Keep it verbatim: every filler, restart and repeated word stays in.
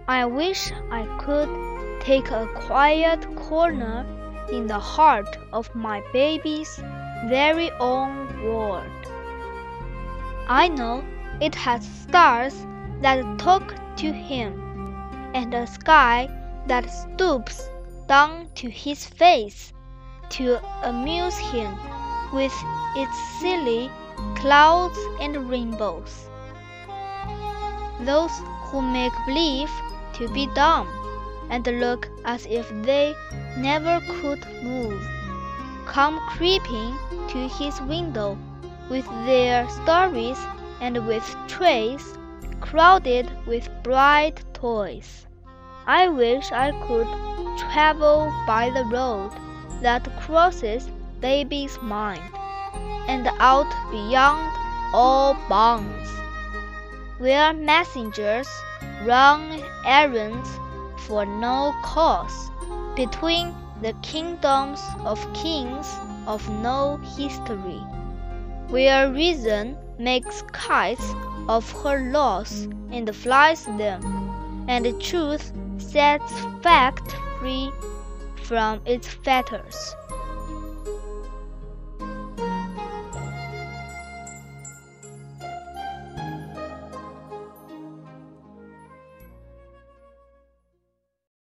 I wish I could take a quiet corner in the heart of my baby's very own world. I know it has stars that talk to him, and a sky that stoops down to his face to amuse him with its silly clouds and rainbows. Those who make believe to be dumb and look as if they never could move come creeping to his window with their stories and with trays crowded with bright toys. I wish I could travel by the road that crosses baby's mind and out beyond all bounds, where messengers run errands for no cause between the kingdoms of kings of no history, where reason makes kites of her laws and flies them, and truth sets fact free from its fetters.